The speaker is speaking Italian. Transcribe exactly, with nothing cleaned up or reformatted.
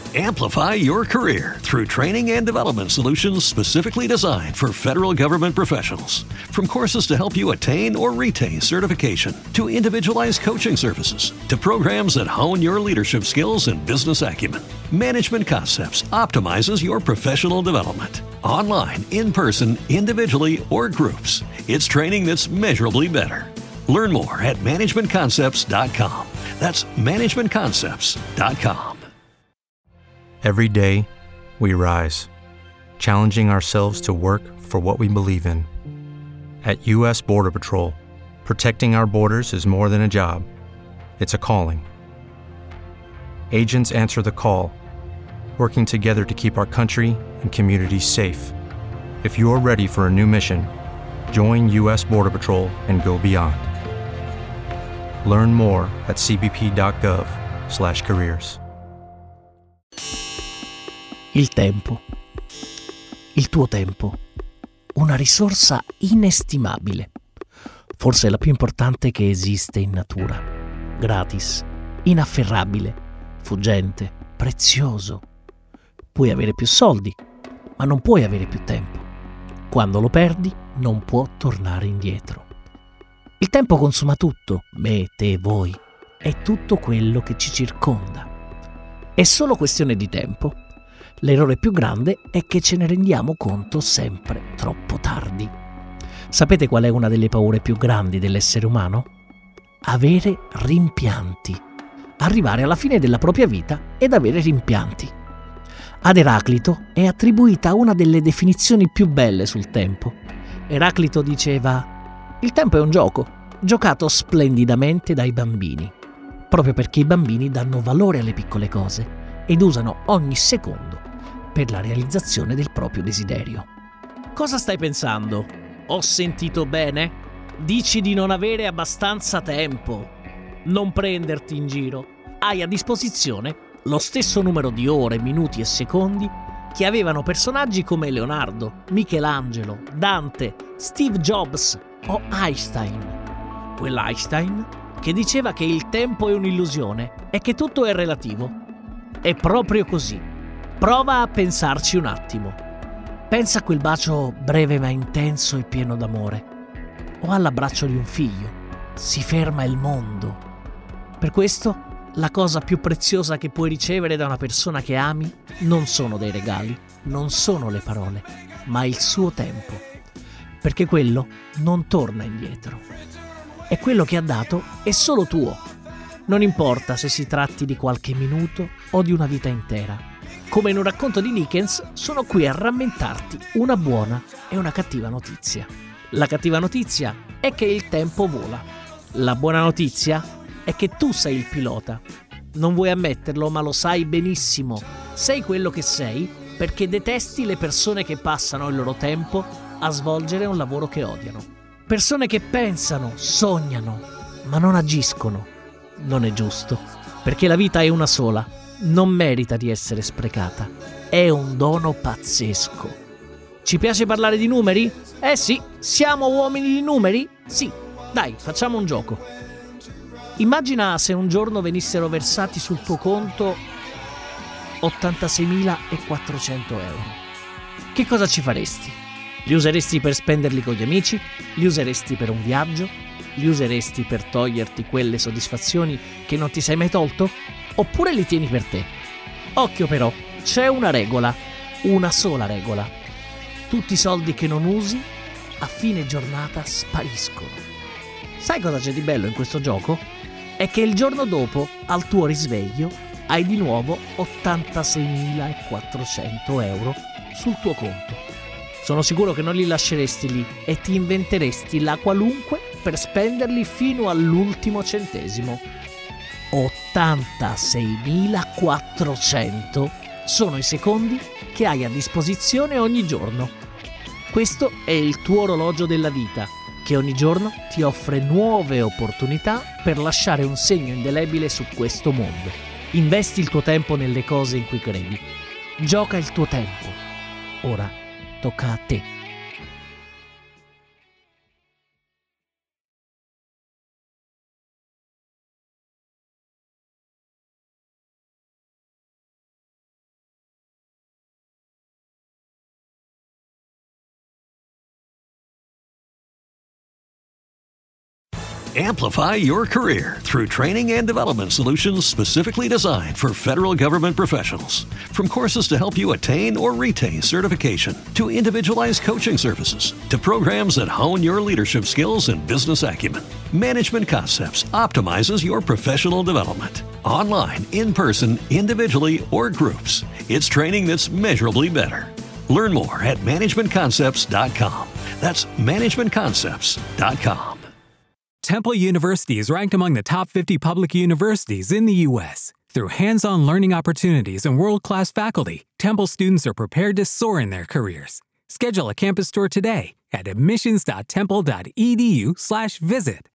Amplify your career through training and development solutions specifically designed for federal government professionals. From courses to help you attain or retain certification, to individualized coaching services, to programs that hone your leadership skills and business acumen, Management Concepts optimizes your professional development. Online, in person, individually, or groups, it's training that's measurably better. Learn more at management concepts dot com. That's management concepts dot com. Every day, we rise, challenging ourselves to work for what we believe in. At U S Border Patrol, protecting our borders is more than a job. It's a calling. Agents answer the call, working together to keep our country and communities safe. If you're ready for a new mission, join U S Border Patrol and go beyond. Learn more at c b p dot gov slash careers. Il tempo. Il tuo tempo. Una risorsa inestimabile. Forse la più importante che esiste in natura. Gratis, inafferrabile, fuggente, prezioso. Puoi avere più soldi, ma non puoi avere più tempo. Quando lo perdi, non può tornare indietro. Il tempo consuma tutto, me, te, voi. È tutto quello che ci circonda. È solo questione di tempo. L'errore più grande è che ce ne rendiamo conto sempre troppo tardi. Sapete qual è una delle paure più grandi dell'essere umano? Avere rimpianti. Arrivare alla fine della propria vita ed avere rimpianti. Ad Eraclito è attribuita una delle definizioni più belle sul tempo. Eraclito diceva: il tempo è un gioco, giocato splendidamente dai bambini, proprio perché i bambini danno valore alle piccole cose ed usano ogni secondo per la realizzazione del proprio desiderio. Cosa stai pensando? Ho sentito bene? Dici di non avere abbastanza tempo. Non prenderti in giro. Hai a disposizione lo stesso numero di ore, minuti e secondi che avevano personaggi come Leonardo, Michelangelo, Dante, Steve Jobs o Einstein. Quell'Einstein che diceva che il tempo è un'illusione e che tutto è relativo. È proprio così. Prova a pensarci un attimo. Pensa a quel bacio breve ma intenso e pieno d'amore. O all'abbraccio di un figlio. Si ferma il mondo. Per questo, la cosa più preziosa che puoi ricevere da una persona che ami non sono dei regali, non sono le parole, ma il suo tempo. Perché quello non torna indietro. E quello che ha dato è solo tuo. Non importa se si tratti di qualche minuto o di una vita intera. Come in un racconto di Dickens, sono qui a rammentarti una buona e una cattiva notizia. La cattiva notizia è che il tempo vola. La buona notizia è che tu sei il pilota. Non vuoi ammetterlo, ma lo sai benissimo. Sei quello che sei perché detesti le persone che passano il loro tempo a svolgere un lavoro che odiano. Persone che pensano, sognano, ma non agiscono. Non è giusto, perché la vita è una sola. Non merita di essere sprecata. È un dono pazzesco. Ci piace parlare di numeri? Eh sì, siamo uomini di numeri? Sì, dai, facciamo un gioco. Immagina se un giorno venissero versati sul tuo conto ottantaseimilaquattrocento euro. Che cosa ci faresti? Li useresti per spenderli con gli amici? Li useresti per un viaggio? Li useresti per toglierti quelle soddisfazioni che non ti sei mai tolto? Oppure li tieni per te? Occhio però, c'è una regola, una sola regola. Tutti i soldi che non usi a fine giornata spariscono. Sai cosa c'è di bello in questo gioco? È che il giorno dopo, al tuo risveglio, hai di nuovo ottantaseimilaquattrocento euro sul tuo conto. Sono sicuro che non li lasceresti lì e ti inventeresti la qualunque per spenderli fino all'ultimo centesimo. ottantaseimilaquattrocento sono i secondi che hai a disposizione ogni giorno. Questo è il tuo orologio della vita, che ogni giorno ti offre nuove opportunità per lasciare un segno indelebile su questo mondo. Investi il tuo tempo nelle cose in cui credi. Gioca il tuo tempo. Ora tocca a te. Amplify your career through training and development solutions specifically designed for federal government professionals. From courses to help you attain or retain certification, to individualized coaching services, to programs that hone your leadership skills and business acumen, Management Concepts optimizes your professional development. Online, in person, individually, or groups, it's training that's measurably better. Learn more at management concepts dot com. That's management concepts dot com. Temple University is ranked among the top fifty public universities in the U S Through hands-on learning opportunities and world-class faculty, Temple students are prepared to soar in their careers. Schedule a campus tour today at admissions dot temple dot e d u slash visit.